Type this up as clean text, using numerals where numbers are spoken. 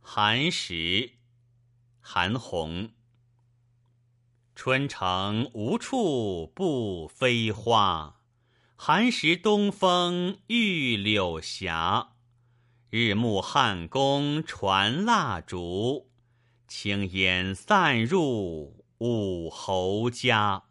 寒食，韩翃。春城无处不飞花，寒食东风御柳斜。日暮汉宫传蜡烛，轻烟散入武侯家。